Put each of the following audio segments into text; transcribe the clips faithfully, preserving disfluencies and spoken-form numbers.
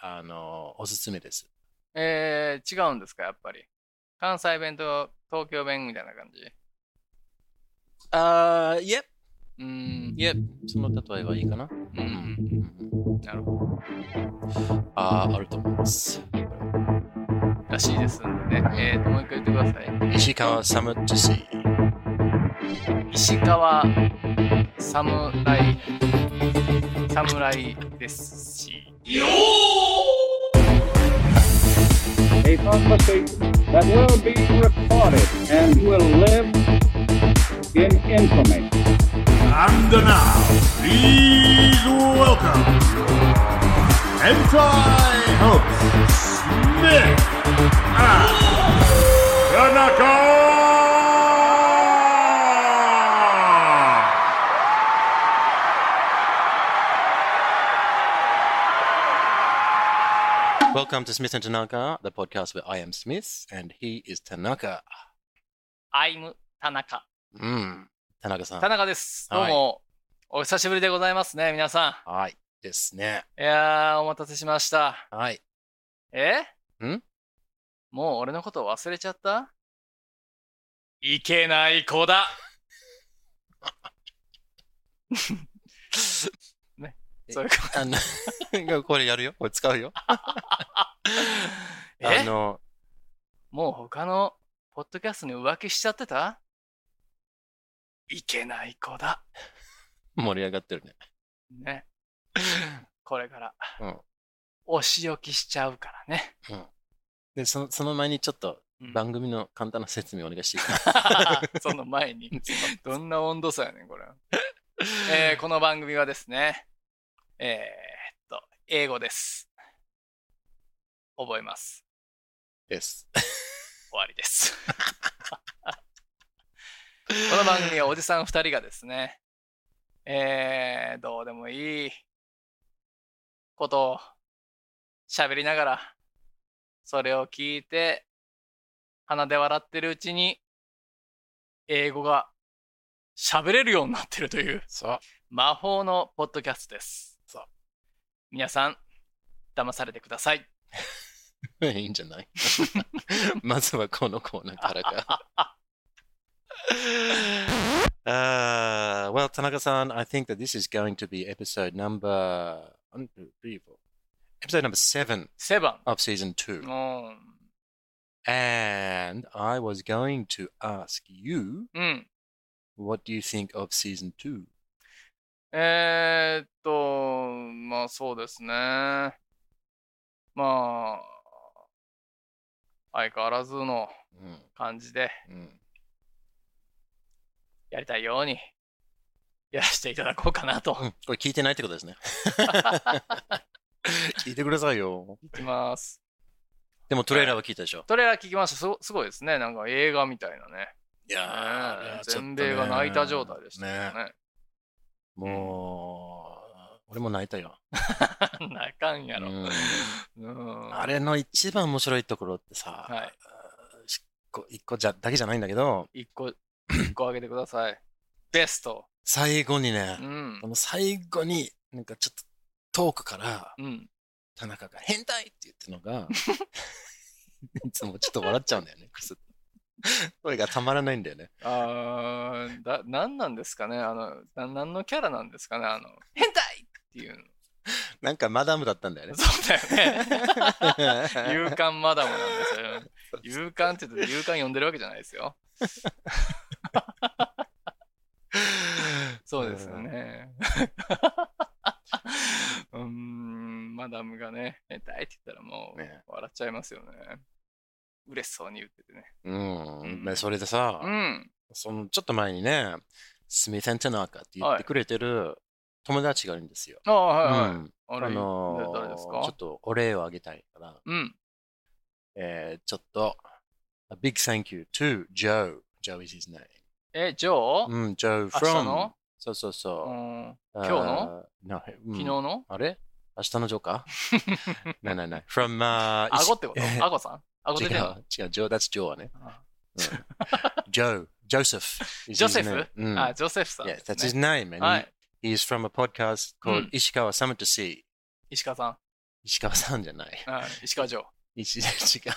あの、おすすめです。 えー、違うんですか、やっぱり。関西弁と東京弁みたいな感じ。 あー、いえ、 うーん。 いえ、その例えはいいかな。 うん。 うん、 なるほど。 あー、あると思います。 らしいですんでね。えーと、もう一回言ってください。 石川 Summer to See。 石川侍、侍ですし。 A conversation that will be recorded and will live in infamy. And now, please welcome Hentai hosts Smith and Tanaka! Welcome to Smith and Tanaka, the podcast where I am Smith and he is Tanaka. I'm 田中。 うん、田中さん。 田中です。 はいどうも、お久しぶりでございますね、皆さはい、ですね。 ん。いやー、お待たせしました。 はい。 えんもう俺のこと忘れちゃった？いけない子だ。ね。そういうこあのこれやるよ。これ使うよ。あえの、 もう他のポッドキャストに浮気しちゃってた？いけない子だ。 盛り上がってるね。 ね。これから、 うん。 お仕置きしちゃうからね。 うん。で、その、その前にちょっとうん番組の簡単な説明お願いしていいかその前に。どんな温度差やねん、これ。えーこの番組はですね、えーっと、英語です。覚えます。 です。 終わりです。この番組はおじさん二人がですね、えー、どうでもいいことを喋りながら、それを聞いて、鼻で笑ってるうちに、英語が喋れるようになってるというそう。 魔法のポッドキャストです。 そう。 皆さん、騙されてください。 いいんじゃないまずはこのコーナーからか。uh, well, Tanaka-san, I think that this is going to be episode number one, two, three, four. Episode number seven セブン。 of season two. うん。 And I was going to ask you, うん。 what do you think of season two? えー、っと、まあそうですね。まあ、相変わらずのうん感じでうんやりたいようにやらせていただこうかなと。 うんこれ聞いてないってことですね。聞いてくださいよ。 いきます。 でもトレーラーは聞いたでしょ。 トレーラー聞きました。すごすごいですね。なんか映画みたいなね。 いやーねあれはちょっとね全米が泣いた状態でしたよね。 もう、俺も泣いたよ。 泣かんやろ。 うんうんあれの一番面白いところってさ、 はい一個一個じゃだけじゃないんだけど、 一個、一個あげてください。ベスト。 最後にねう、んこ。の最後になんかちょっと遠くからうん。 田中が変態って言ってるのが、いつもちょっと笑っちゃうんだよね。クスッとこれがたまらないんだよね。 あー、だ、なんなんですかねあの、な、なんのキャラなんですかねあの、変態っていうの。 なんかマダムだったんだよね。 そうだよね。勇敢マダムなんですよ。勇敢って言って勇敢呼んでるわけじゃないですよ。そうですよね。うーん、マダムがね、変態って言ったらもうね笑っちゃいますよね。嬉しそうに言っててね。 うん。 うんでそれでさ、 うん。 そのちょっと前にね、スミス・タナカって言ってくれてる友達がいるんですよ。 ああ、はいはい。 うんあれ、 あのー誰ですか？ ちょっとお礼をあげたいから、 うん。 えー、ちょっと、a big thank you to Joe. Joe is his name. え、ジョー、 うん、Joe 明日 from. のそうそうそうう。 ん、今日の Uh, no, うん昨日のあれ明日のジョーかないないない。from, uh, 顎ってこと顎さん顎出違てんのう、違う、Joe, that's Joe はね。 あうん Joe, Joseph. is ジョ his セフ name. うんあ、ジョセフさん Yeah, ですね。 that's his name. And はい。 he, he's from a podcast うん called Ishikawa Summer to See. 石川さん。 石川さんじゃない。 あ石川城。 石違う。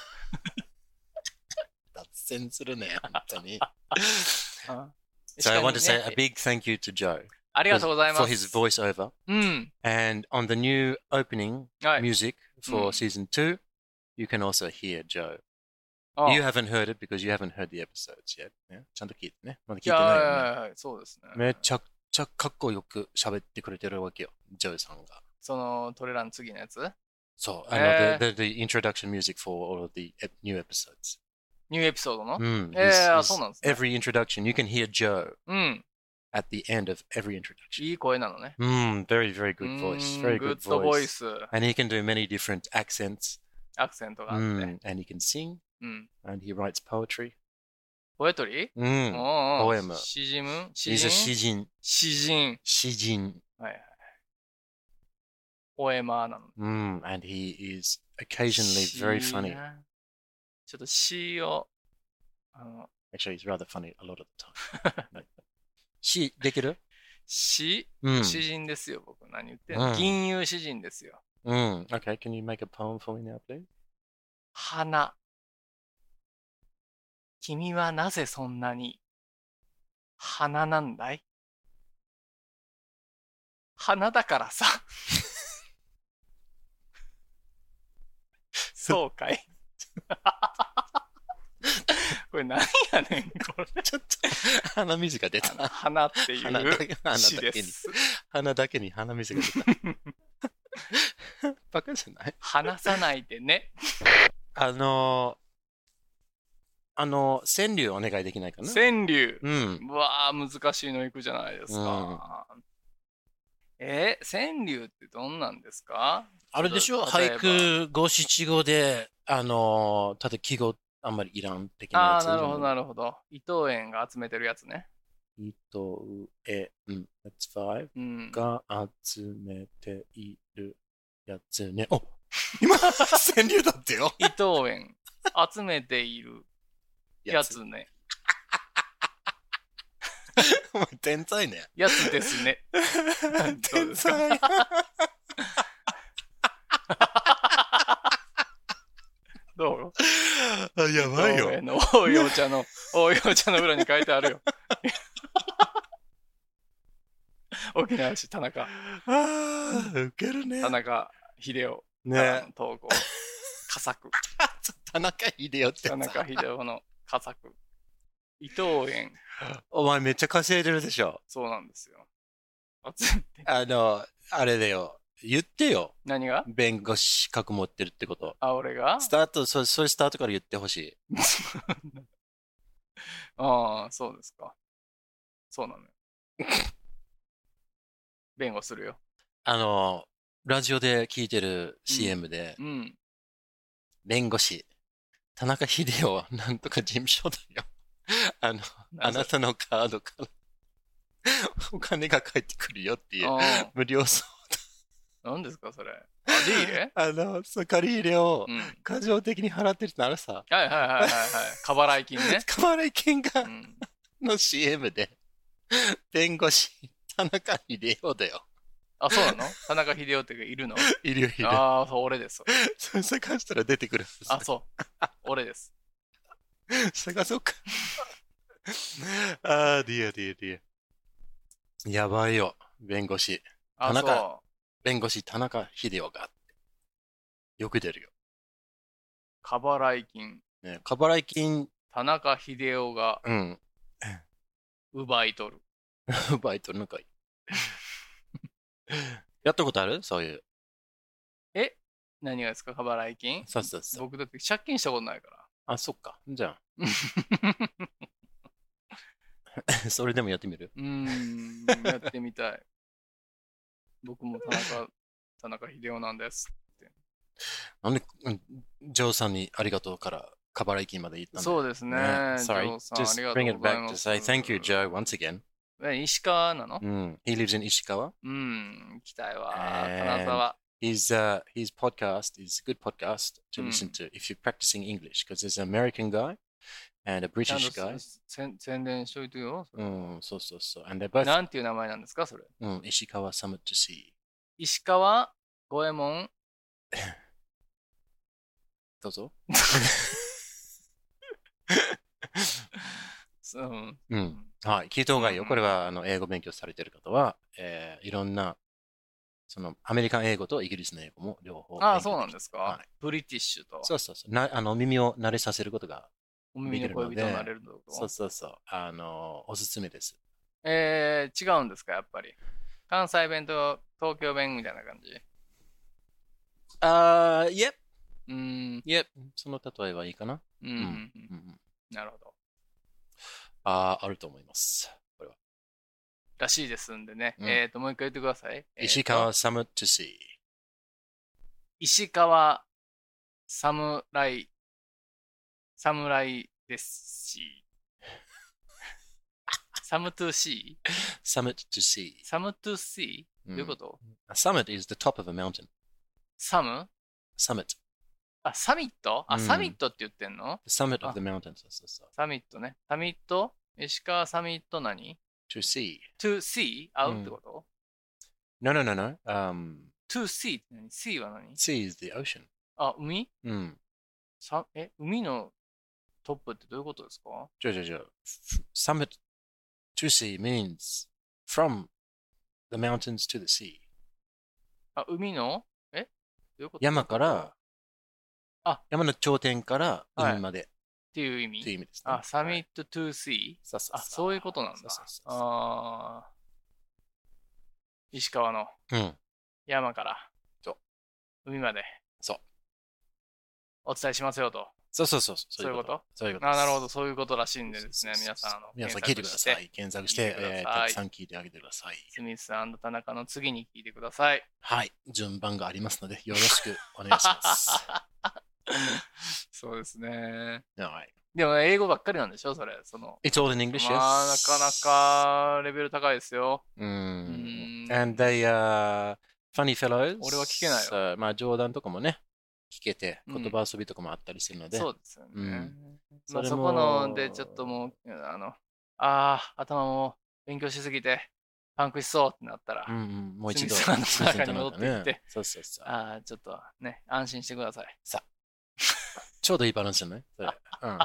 脱線するね、本当に。So I want to say a big thank you to Joe. ありがとうございます。 For his voiceover. うん。 And on the new opening はい。 music for うん season two, you can also hear Joe. あ You haven't heard it because you haven't heard the episodes yet. ね、ちゃんと聞いてね。まだ聞いていやないよね。 いやいやそうですね。 めちゃくちゃかっこよく喋ってくれてるわけよ、ジョーさんが。 そのトレーラーの次のやつそう、あの、 えー the, the, the introduction music for all of the ep- new episodes. ニューエピソードの、 うん。 えー he's- あ he's- そうなんですね。 Every introduction, you can hear Joe うん。 at the end of every introduction. いい声なのね。 Mm, very, very good う voice. ーん Very グッ good ドボイ voice. ス、 And he can do many different accents. アクセントがあって。 Mm, and he can sing. うん。 And he writes poetry. ポエトリー Mm. おうおうポエム詩人詩 He's a 人詩人。 詩人。 詩人。 はいはい。ポエマーなの。 Mm, and he is occasionally very 詩 funny. なちょっと詩を、あの、 Actually, he's rather funny a lot of the time. Like, 詩できる詩、 うん。 詩人ですよ、僕。何言ってんの、 うん銀融詩人ですよ。 Mm. Okay, can you make a poem for me now, please? 花。君はなぜそんなに花なんだい？花だからさ。そうかい。これ何やねん、これ。 ちょっと鼻水が出たな。 花っていう鼻だけ鼻詩だけにです。 鼻だけに鼻水が出た。バカじゃない話さないでね。 あのー、あのー、川柳お願いできないかな川柳。 うん。 うわー、難しいのいくじゃないですか。えー、川柳ってどんなんですか？ あれでしょ例えば俳句五七五で、あのー、ただ記号あんまりいらん的なやつ。 ああ、なるほど、なるほど。伊藤園が集めてるやつね。 伊藤園、that's five うん。 が集めているやつね。お今、川柳だってよ。 伊藤園集めているやつね。 お前天才ね。 やつですね。どう天ですか？ 才。 どうあやばいよ。 伊藤園の大いお茶の、大いお茶の裏に書いてあるよ。沖縄市田中、 ああ、ウケるね。 田中秀夫ねからの投稿。佳作。 田中秀夫って田さ。 中秀夫の佳作。伊藤園、 お前めっちゃ稼いでるでしょ。 そうなんですよ。集めてあの、あれだよ。言ってよ。 何が？ 弁護士資格持ってるってこと。 あ、俺が？ スタート、そそういうスタートから言ってほしい。 ああ、そうですか。そうなのよ。弁護するよ。 あの、ラジオで聞いてる シーエム で、 うん。 弁護士、田中秀夫なんとか事務所だよ。あの、あなたのカードからお金が返ってくるよっていうあ無料相あ、何ですか、それ。あ、ディーレ？ 談。あの、その借り入れをうん。 過剰的に払ってるってなるさ。 はいはいはいはいはい。過払い金ね。 過払い金がうん。 の シーエム で、弁護士、田中秀夫だよ。 あ、そうなの？田中秀夫っているの？ いるよ、いる。 ああ、そう、俺です。 それ探したら出てくる。 あ、そう。俺です。 探そうか。あー、ディアディアディア。やばいよ、弁護士。 あ、 田中そ弁護士、田中秀夫が。よく出るよ。 う。過払い金。 ね、過払い金、 田中秀夫がうん。 奪い取る。 バイトなんかいい。やったことあるそういう。 え？何がですか、過払い金？ そうそうそう。 僕だって借金したことないから。 あ、そっか。じゃあ、それでもやってみるうーん、やってみたい。僕も田中、田中秀夫なんです。 なんで、うんジョーさんにありがとうから、過払い金まで言ったんだそうですね。 Yeah, ジ sorry. ョーさん、あ Just りがと bring う it ござい back ま to す。 say thank you, Joe, once again. え石川なの？ うん。He lives in Ishikawa. うん、行きたいわ。 And 金沢。 His, uh, his podcast is a good podcast to Mm. listen to if you're practicing English, because there's an American guy and a ちゃん British と guy. 宣宣伝しといてよ。 うん、そうそうそう。And they're both, なんていう名前なんですか、それ。 うん、石川 Summit to See. 石川五右衛門どうぞ。 うん。 うん。はい。聞いた方がいいよ。これは、あの、英語勉強されている方は、えーいろんな、その、アメリカン英語とイギリスの英語も両方ああ、 勉強そうなんですか、 はい。 ブリティッシュと。 そうそうそう。な、あの、耳を慣れさせることがお耳の恋人になれるってことそうそうそう。あの、おすすめです。 えー、違うんですか、やっぱり。関西弁と東京弁みたいな感じ。 あー、いえ。 うーん。 いえ。その例えはいいかな。 うん。うんうんうんなるほど。 あー、あると思います。これは。 らしいですんでね。 うんえっと、もう一回言ってください。 石川サムトゥシー。 石川侍、侍ですし。サムトゥシー Summit to see. サムトゥシーどういうこと、 A summit is the top of a mountain. サム Summit. あ、サミットあ、 うんサミットって言ってんの The summit of the mountain. そうそうそう。 サミットね。サミット石川サミット何 To see. ?to see? 会うんうってこと、 No, no, no, no. Um, to see って何 ?see は何 sea is the ocean. あ、海うん。 さえ、海のトップってどういうことですかじゃじゃじゃ。Summit to see means from the mountains to the sea. あ、海のえどういうこと山から、 あ山の頂点から海までっていう意味という意味ですね。 あ、サミはいット to see? そうそうそうあ、そういうことなんだ。 そうそうそうそうああ。石川のうん。 山からそう海までそう。 お伝えしますよと。 そうそうそう。 そういうことそういうことです。 あなるほど、そういうことらしいんでですね、皆さん、あの、 皆さん聞いてください。検索して、 聞いてくださいえーたくさん聞いてあげてください。 スミス田中の次に聞いてください。 はい。順番がありますので、よろしくお願いします。 そうですね。 はい。 でも、英語ばっかりなんでしょそれ。その。 It's all in English, まあ、 yes. なかなかレベル高いですよ。 うん。 うん And they are funny fellows. 俺は聞けないよよ。まあ、冗談とかもね、聞けて、 うん言葉遊びとかもあったりするので。 そうですよね。 うんまあ、 それもそこのでちょっともう、あの、ああ、頭も勉強しすぎて、パンクしそうってなったら、 うんうん、もう一度、 スミスさんの中に戻っていってね。そうそうそう。 ああ、ちょっとね、安心してください。 さあ、ちょうどいいバランスじゃないそれ。うん。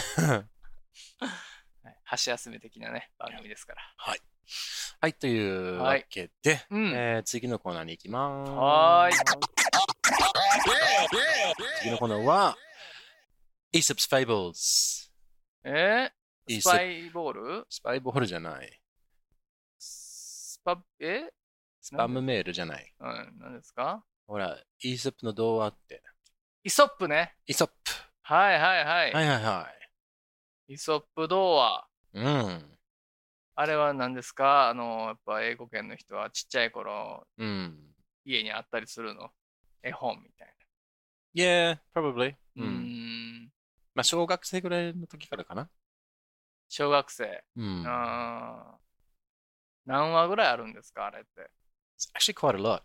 はい箸休め的なね、番組ですから。 はい。はい、というわけで、 うんえー次のコーナーに行きます。 はーい。 次のコーナーは、Aesop's Fables。 えー、 いいスパイボールスパイボールじゃない。 スパ、えスパムメールじゃない。 うん、何ですかほら、イーソップの童話って。 イソップね。 イーソップ。 はいはいはい。 はいはいはイソップ童話。 い。うん。 あれは何ですかあの、やっぱ英語圏の人はちっちゃい頃、 うん。 家にあったりするの。絵本みたい Yeah, probably. な。うーん。 まあ、小学生ぐらいの時からかな。 小学生。 うん。 あー何話ぐらいあるんですかあれって。 It's actually quite a lot.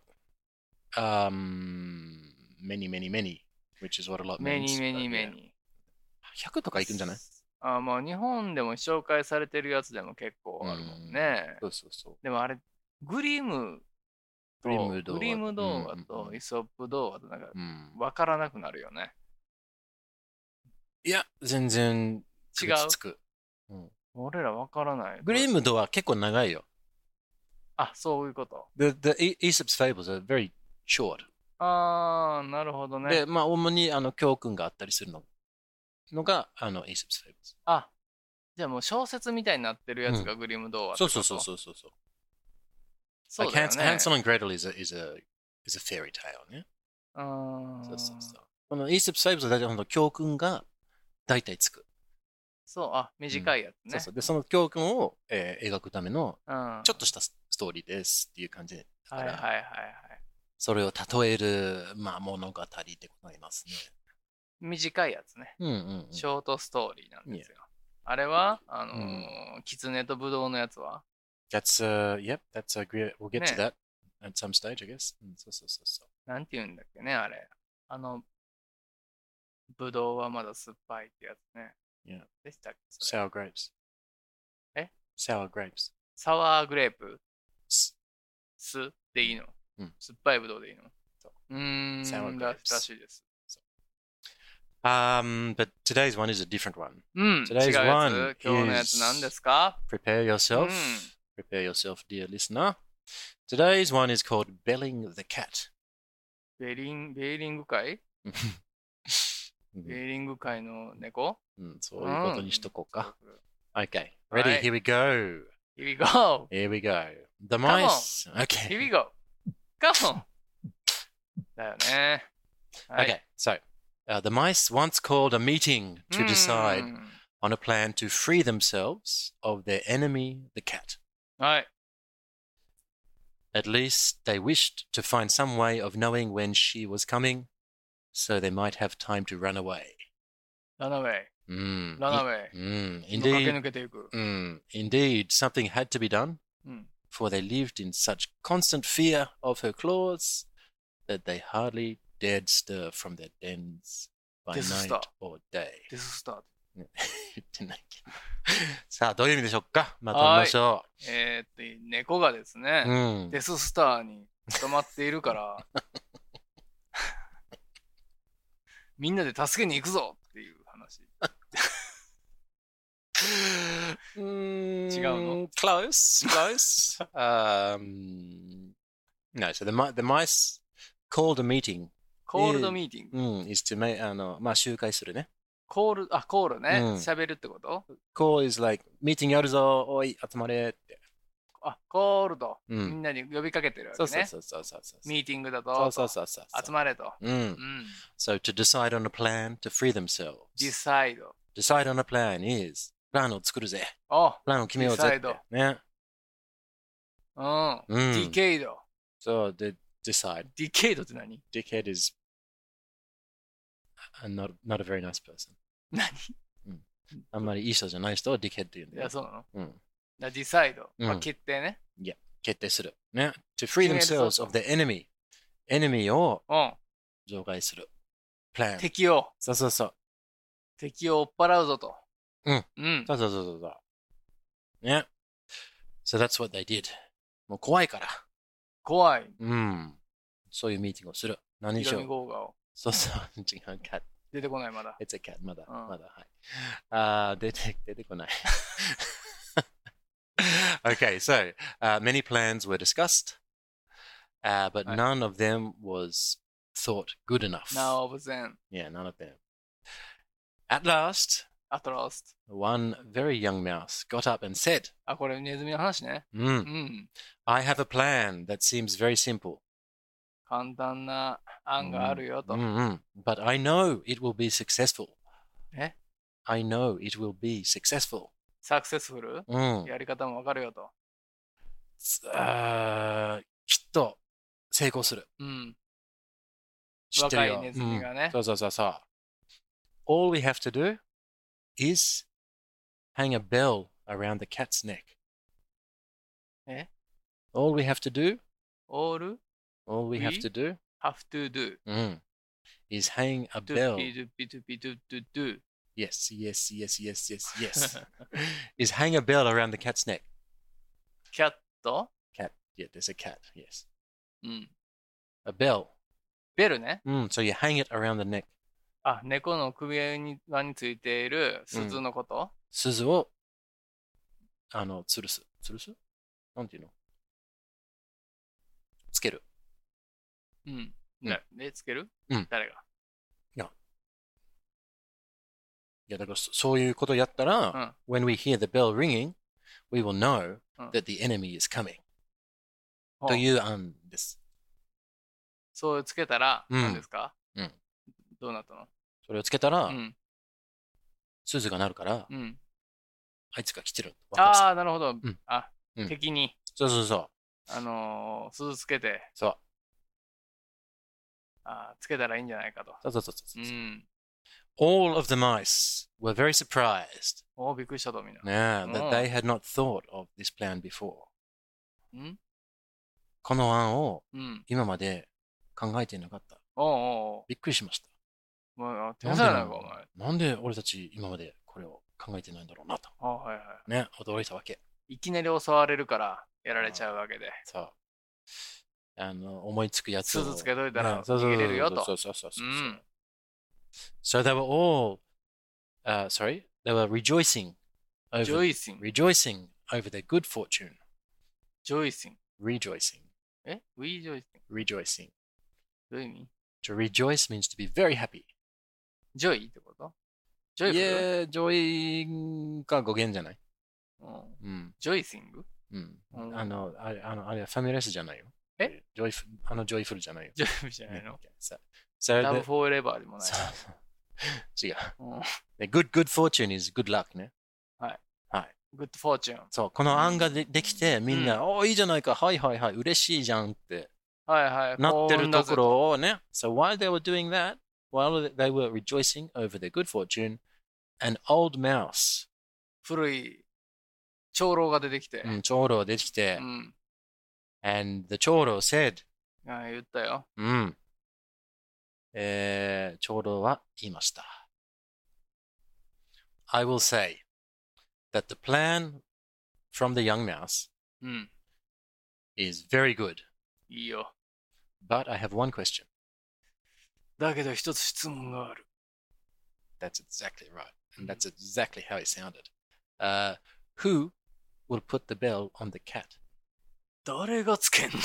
Um, many, many, many, which is what a lot メ means. ニーメニー but メ yeah. ニー。 ひゃくとかいくんじゃないあーまあ日本でも紹介されてるやつでも結構あるもんね。 そうそうそう。 でもあれ、グリムとグリム童話グリム動画うんうんうんとイソップ動画となんかうん。 分からなくなるよね。 いや、全然違う区別つく。うん俺ら分からない。 グリムドは結構長いよ。 あ、そういうこと。 The, the Aesop's Fables are very short. あー、なるほどね。 で、まあ、主にあの教訓があったりするののが、あの、Aesop's Fables。 あ、じゃあもう小説みたいになってるやつがグリム童話ってこと、 そうそうそうそうそうそう。 そうだよ Like ね。 Hansel and Gretel is a, is a, is a fairy tale ね。 うーんそうそうそう。この Aesop's Fables は大体ほんと教訓が大体つく。 そう、あ、短いやつね。 そうそう。で、その教訓を、えー描くためのうん。 ちょっとしたスストーリーですっていう感じだから、 はいはいはいはい。 それを例える、まあ、物語でございますね。 短いやつね。 うんうん、うん。 ショートストーリーなんですよ。あれは、あのーうんキツネとブドウのやつは That's, uh, yep, that's a great, we'll get to ね that at some stage, I guess. うん、そうそうそうそう。 なんて言うんだっけね、あれ。あの、ブドウはまだ酸っぱいってやつね。 Yeah. でしたっけそれ Sour grapes. え Sour grapes. サワーグレープす酢でいいの、 うん酸っぱいブドウでいいのうーん、 Sour ら grapes. らしいです。 Um, but today's one is a different one. うん、違う Today's や one つ。今日のやつ何ですか？ Prepare yourself. Mm. Prepare yourself, dear listener. Today's one is called Belling the Cat. ベリン、ベーリング会ベーリング会の猫うん、そういうことにしとこうか。Okay, Right. ready? Here we go. Here we go. Here we go. The Come on. mice. Here Okay. we go. Come on. だよね。はい。 Okay, so uh, the mice once called a meeting う to ん decide on a plan to free themselves of their enemy, the cat. はい。 At least they wished to find some way of knowing when she was coming, so they might have time to run away. ランナウェイ。 Mm. ランナウェイ。 Mm. 今駆け Indeed, 抜けていく。 mm. Indeed, something had to be done, うん。 for they lived in such constant fear of her claws that they hardly dared stir from their dens by This is night the- or day. デススタート。 言ってないけど。さあ、どういう意味でしょうか？まとめましょえー、っと、猫がですね、 う。うん。 デススターに捕まっているから、みんなで助けに行くぞっていう話。 うーん違うの？ Close, close. um, no, so the, mi- the mice called a meeting. コールドミーティング。 うん、is to make, あの、まあ、集会するね。 コール、あ、コールね。 うん喋、るってこと Call is like, meeting やるぞ、おい、集まれって。 あ、コールド。 うんみんなに呼びかけてるわけね。 そうそうそうそうそう。 ミーティングだと。 そうそうそうそう。 集まれと。 うん。 うん。 So to decide on a plan to free themselves. ディサイド。 Decide on a plan is, プランを作るぜ。 おプランを決めようぜって。 Decide ね。 うん。 うんディケイド。 So, the decide. ディケイドって何？ Dickhead is a not, not a very nice person. 何？ あんまりいい人じゃない人を Dickhead って言うんいや、 だよ。 そうなの？ うん。 ディサイド。 うんまあ、決定ね。 決定する。ね。To free 決める themselves ぞ of the enemy. enemy をうん。 除外する。plan. 敵を、 そうそうそう。 敵を追っ払うぞと。 うん。 うん。 そうそうそうそうそう。ね。So that's what they did. もう怖いから。 怖い。 うん。そういうミーティングをする。何ヒロミしよう。 ゴーガを。 そうそう。違う。cat. 出てこないまだ。 It's a cat. まだ。 うんまだ。はい。あー、出て、出てこない。Okay, so uh, many plans were discussed, uh, but Right. none of them was thought good enough. ナオブゼン。 Yeah, none of them. At last, アトラスト。 one very young mouse got up and said, あ、これネズミの話ね。 "Hmm, うん。 I have a plan that seems very simple. 簡単な案があるよと。 Mm-mm. But I know it will be successful. え I know it will be successful. サクセスフル Mm. やり方もわかるよと。 あーきっと成功する。 うん。 知ってるよ。 若いネズミがねうんそうそうそうそう。All we have to do is hang a bell around the cat's neck. え All we have to do, all all we have We? to do, have to do. mm, is hang a to bell. be, to be, to be, to, to do. Yes, yes, yes, yes, yes, yes. is hang a bell around the cat's neck. キャット Cat. Yeah, there's a cat. Yes. うん。 A bell. ベルね。 Mm, so you hang it around the neck. あ、猫の首輪に輪についている鈴のこと、 鈴を、あの、吊るす。吊るすなんていうのつける。 うん、 うんねで、つける、 うん誰がいや、だからそそういうことやったら、when we hear the bell ringing, we will know うん that the enemy is coming. うんという案です。 そうつけたら、 うん何ですか、 うんどうなったのそれをつけたら、 うん。 鈴が鳴るから、 うん。 あいつが来てる。わかるさああ、なるほど。 んあ、 うん敵に、 そうそうそう。 あのー、鈴つけて、 そうあーつけたらいいんじゃないかと。 そうそうそうそうう。 ん。 All of the mice were very surprised おーびっくりしたとみんな。 yeah, うん that they had not thought of this plan before. うんこの案をうん。 今まで考えていなかった。 おうおうおびっくりしました。 う。もう、天なんでなの才なのか、お前。 なんで俺たち今までこれを考えてないんだろうなと。 あはいはい。 ね、驚いたわけ。 いきなり襲われるからやられちゃうわけで。 そう。 あの、思いつくやつを。 鈴つけといたらねそうそう逃げれるよと。 そうそうそうそうそう。 うん。 So they were all, uh, sorry, they were rejoicing over, ジョイシン。 rejoicing over their good fortune. ジョイシン。 Rejoicing, え ?We ジョイシン。 rejoicing. どういう意味 To rejoice means to be very happy. ジョイってことジョイフル Yeah, joy が語源じゃない。 うんうん。 ジョイシングうん。 うんあの、あれ、あの、あれはファミレスじゃないよ。 えジョイフル、あのジョイフルじゃないよ。 ジョイフルじゃないの So, so ラブ the, フォーエレバーでもない。 そう違う。 うん The good, good fortune is good luck ね。 はい。 はい。 グッドフォーチューン。 そう、この案がでできて、みんな、おー、いいじゃないか、はいはいはい、嬉しいじゃんってはいはい。 なってるとこ幸運だぜろをね。So while they were doing that, while they were rejoicing over their good fortune, an old mouse, 古い長老が出てきて。 うん、長老出てきて、 うん。 and the 長老 said, あ言ったよ。 うん、えー、長老は言いました。I will say that the plan from the young mouse うん。 is very good, いいよ。 but I have one question. だけど一つ質問がある。 That's exactly right. And that's exactly how it sounded. Uh, who will put the bell on the cat? 誰がつけんねん。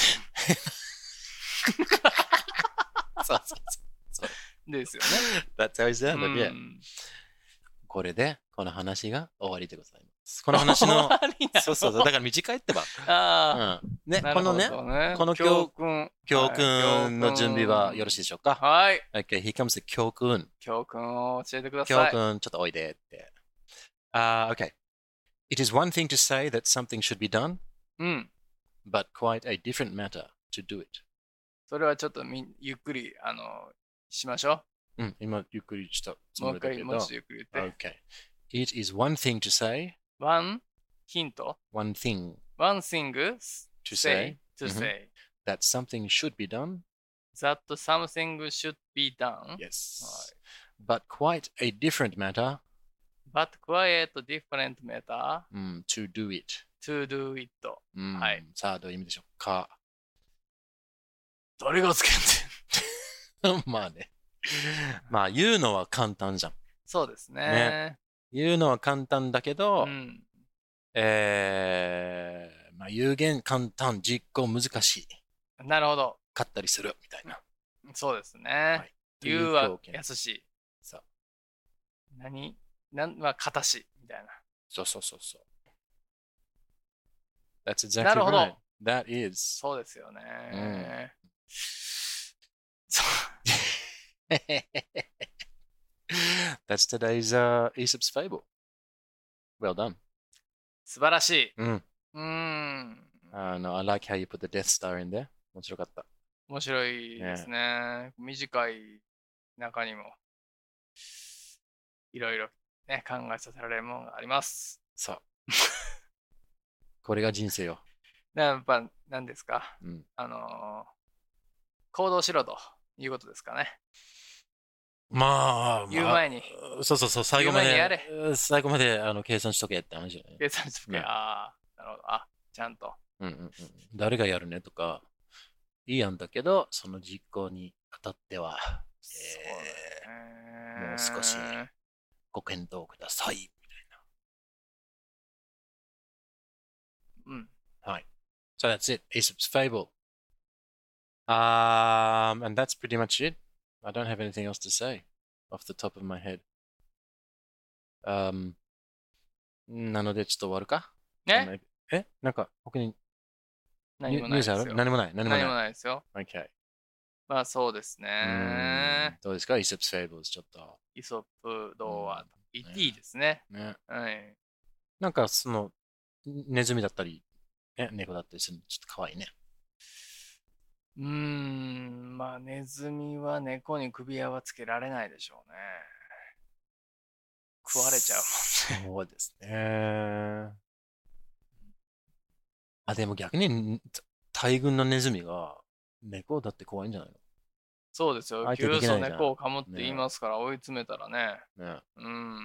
そうそうそう。 ですよね。 That's how it う sounded, yeah. ん。 これで、この話が終わりでございます。この話の、 終わりなのそうそうそう、だから短いってば。 あうん。ね、 あ、 このね、 なるほどねこの教訓。 教はい訓の準備はよろしいでしょうか？ はい。 Okay, here comes the 教訓。 教訓を教えてくだ教さい。 訓、ちょっとおいでって。Uh, okay. It is one thing to say that something should be done, うん。 but quite a different matter to do it. それはちょっとみゆっくり、あの、しましょうん、今ゆっくりしたつう。もう一回、 もりだけど。 もう一度ゆっくり言って。 Okay. It is one thing to say, one ヒント one thing one thing to say say to うん say that something should be done. that something should be done Yes. But quite a different matter but quite different matter うん、to do it. to do it うんはい。 さあ、どういう意味でしょうか？ 誰がつけんねんまあね。まあ、言うのは簡単じゃん。 そうですねね言うのは簡単だけど、 うんえー、まあ、有限簡単、実行難しい。 なるほどかったりするみたいな。 そうですね、 という言うは表現易しいそう何なんは形しみたいなそうそうそうそう。That's exactly なるほど right. That is. そうですよね、そう That's today's uh, Aesop's fable. Well done. 素晴らしいうん。 うーん Uh, no, I like how you put the Death Star in there. 面白かった。 面白いですね。短い中にもいろいろね考えさせられるものがあります。 そう。これが人生よ。 やっぱ何ですか、 うん、 あのー、行動しろということですかね。 まあ、 言う前に。 まあ、そうそうそう、最後まで、 言う前にやれ最後まであの計算しとけって話じゃない。 計算しとけ、 ねああ、なるほど。あ、ちゃんと。 うんうんうん、誰がやるねとか、いい案だけど、その実行にあたっては、えー、もう少しご検討ください、みたいな。 うん。 はい。So that's it. Aesop's fable. Um, and that's pretty much it. I don't have anything else to say off the top of my head. Um, なのでちょっと終わるかねえなんか他に何もないですよ。 ニュースある何もない。何もない。 何もないですよ。 Okay. まあそうですね。 どうですか Aesop's fables ちょっと。 イソップ童話と言っていいですね。 ね。 はい。 なんかその、ネズミだったり、ね、猫だったりするのちょっと可愛いね。 うーん、まあネズミは猫に首輪はつけられないでしょうね。食われちゃうもんね。 そうですね。あ、でも逆に大群のネズミが猫だって怖いんじゃないの？ そうですよ。 相手急できないじゃん須猫を噛むって言いますから、追い詰めたらね。 ね。 うん。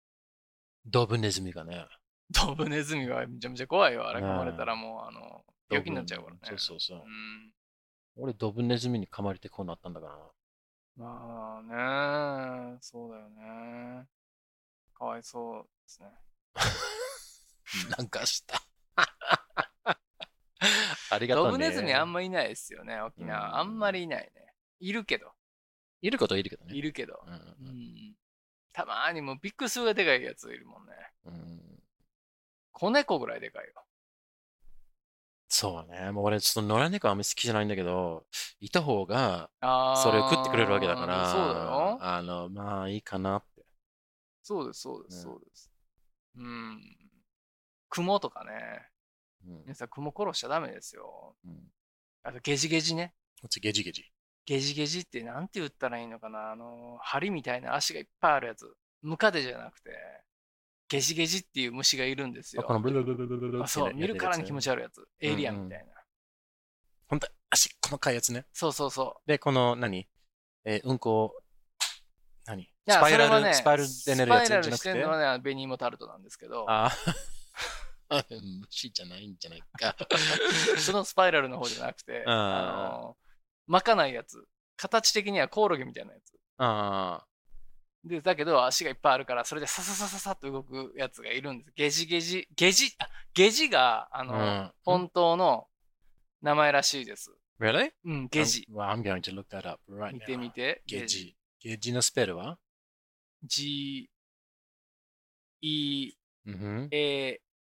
ドブネズミがね。 ドブネズミはめちゃめちゃ怖いよ。あれね噛まれたらもう、あの、 病気になっちゃうからね。 そうそうそう。 うん、 俺、ドブネズミに噛まれてこうなったんだからな。 まあね、そうだよね。かわいそうですね。 なんかした。ありがとうね。 ドブネズミあんまいないですよね、沖縄。うん、あんまりいないね。いるけど。 いることはいるけどね。 いるけど。 うんうんうんたまーにもうビッグスがでかいやついるもんね。 うん、 子猫ぐらいでかいよ。 そうね。もう俺、ちょっと野良猫あんまり好きじゃないんだけど、いた方が、それを食ってくれるわけだから、 そうだよ。 あの、まあいいかなって。 そうです、そうです、そうです。うん。雲とかね。 うん、 皆さん、雲殺しちゃダメですよ。 うん、 あと、ゲジゲジね。 こっちゲジゲジ。 ゲジゲジってなんて言ったらいいのかな、あの、針みたいな足がいっぱいあるやつ。ムカデじゃなくて、ゲジゲジっていう虫がいるんですよ。 あ、このブルブルブルブルブルそう、見るからに気持ち悪いやつ。エイリアンみたいな。 ほんと、足、細かいやつね。 そうそうそう。 で、この、何えー、うんこ、何いや、 スパイラル、 ね、 スパイラルで寝るやつじゃなくて。 スパイラルしてるのはね、ベニーモタルトなんですけど。 ああ。虫じゃないんじゃないか。 そのスパイラルの方じゃなくて、あの、巻かないやつ。形的にはコオロギみたいなやつ。 ああ。 で、だけど足がいっぱいあるから、それでサササササッと動くやつがいるんです。ゲジゲジ、ゲジ、あ、ゲジが、あの、うん、本当の名前らしいです。 Really? うん、ゲジ。 Well, I'm going to look that up right now. 見てみて。 ゲジ。ゲジのスペルは G, E, mm-hmm. A,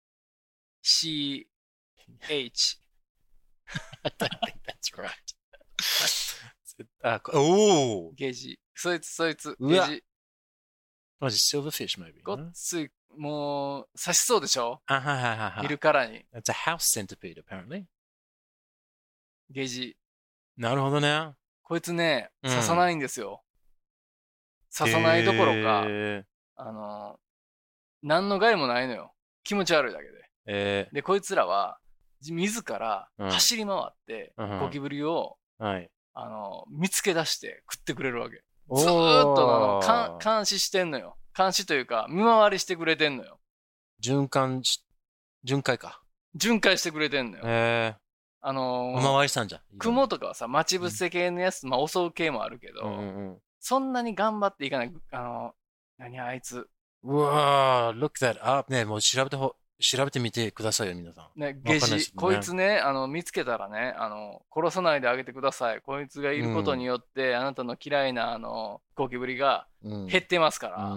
C, H. I don't think that's right. あ、おーゲジ。そいつ、そいつ、 ゲジ。 マジ、silverfish maybe. ごっつい、もう、刺しそうでしょあはははは。 見るからに。 That's a house centipede, apparently. ゲジ。 なるほどね。 こいつね、刺さないんですよ。うん、刺さないどころか、あの、何の害もないのよ。気持ち悪いだけで。 えー、 で、こいつらは、自ら走り回って、うん、ゴキブリを、 はい、 あの、見つけ出して食ってくれるわけ。ずーっとあの監視してんのよ。監視というか、見回りしてくれてんのよ。 循環し、巡回か。 巡回してくれてんのよ。 へー。 あのー、 おまわりさんじゃん。 雲とかはさ、待ち伏せ系のやつ、うん、まあ襲う系もあるけど、 うんうん、 そんなに頑張っていかない。あのー、何あいつ。 うわー、look that up ね、もう調べてほ、調べてみてくださいよ、皆さん。 ね、ゲジ、ね、こいつね、あの、見つけたらね、あの、殺さないであげてください。こいつがいることによって、うん、あなたの嫌いな、あの、ゴキブリが減ってますから。 うん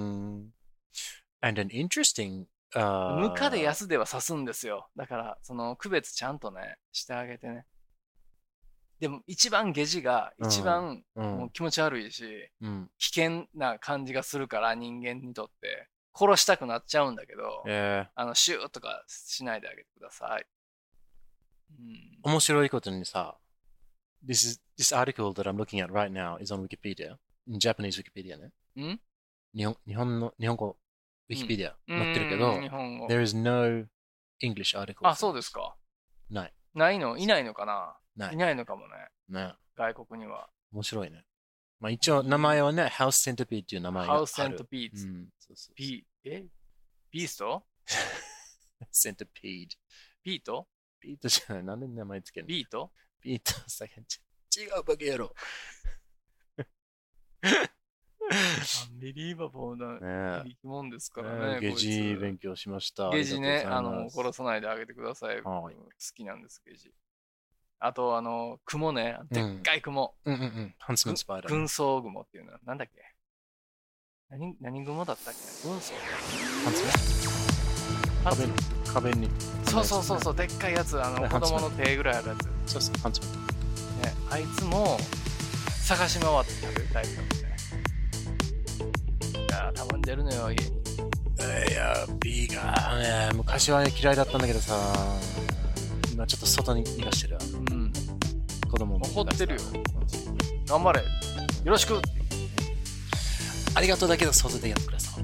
。And an interesting, uh... ムカデヤスでは刺すんですよ。だから、その、区別ちゃんとね、してあげてね。でも、一番ゲジが、一番、もう気持ち悪いし、 うん、 危険な感じがするから、人間にとって。殺したくなっちゃうんだけど、 えー、 あのシューとかしないであげてください。 うん、面白いことにさ、this, is, this article that I'm looking at right now is on Wikipedia, in Japanese Wikipedia ね。 ん日本日本の日本語 Wikipedia、うん、載ってるけど、 日本語 there is no English article. あ、そうですか。 ない。 ないのいないのかなない。 いないのかもね。 ね。 外国には。 面白いね。まあ一応名前はね、House Centipede っていう名前がある。 House Centipede。 うん。そうそうそう。 ビえビースト Centipede。 ビートビートじゃない。なんで名前つけるのビートビートさ違うバカ野郎。 アンビリーバボーな生き物ですからね。 ゲジ勉強しました。 ゲジね、あの、殺さないであげてください。 好きなんです、ゲジ。あと、あの、雲ね。でっかい雲。 うんうんうん。ハンスマンスパイダー。 軍曹雲っていうのは、なんだっけ何、何雲だったっけ軍曹ハンスマン壁に、壁に。 そうそうそうそう、でっかいやつ。あの、子供の手ぐらいあるやつ。 そうそう、ハンスマン。 ね、あいつも、探し回って食べるタイプなんでね。いや、たまに出るのよ、家に。 いや、ビーガー、ね、昔は嫌いだったんだけどさ、今ちょっと外に逃がしてる。 うん。 子供も。 怒ってるよ。頑張れ。よろしく。 ありがとうだけど外でやってください。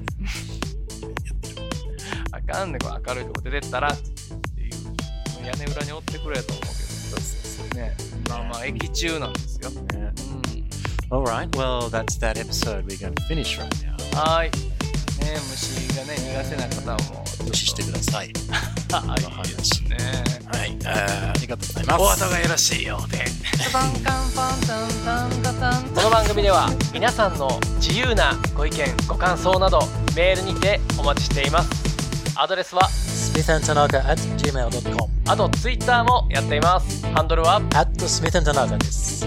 あかんね、これ明るいとこ出てったらっていう。屋根裏に追ってくれと思うけど。そうそうそう。ね。まあまあ、駅中なんですよ。 ね。うん。Alright, well, that's that episode. We're going to finish right now. はい。 ね、虫がね、苦手な方はもう。 無視してください。 あ、いいですね。 はい、ありがとうございます。 お後がよろしいようで。この番組では皆さんの自由なご意見ご感想などメールにてお待ちしています。アドレスはスミス アンド タナカ アット ジーメール ドット コムあとツイッターもやっています。ハンドルはアット スミス アンド タナカ です。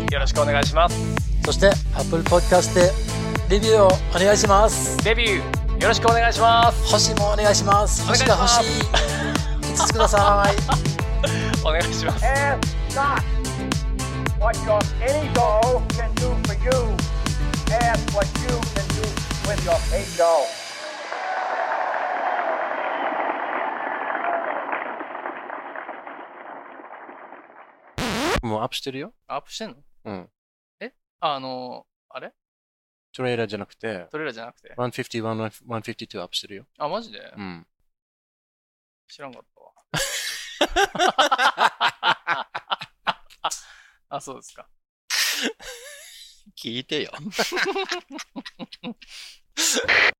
よろしくお願いします。 そして Apple Podcast でレビューをお願いします。 デビューよろしくお願いします。 星もお願いします。星が欲しい。いつつください。 お願いします。 Ask not what your any doll can do for you. Ask what you can do with your paid doll. もうアップしてるよ。 アップしてんの？ うん。 えあの、あれトレーラーじゃなくて、 トレーラーじゃなくて。 ひゃくごじゅういち、ひゃくごじゅうにアップしてるよ。 あ、マジで？ うん。 知らんかったわ。あ、そうですか。 聞いてよ。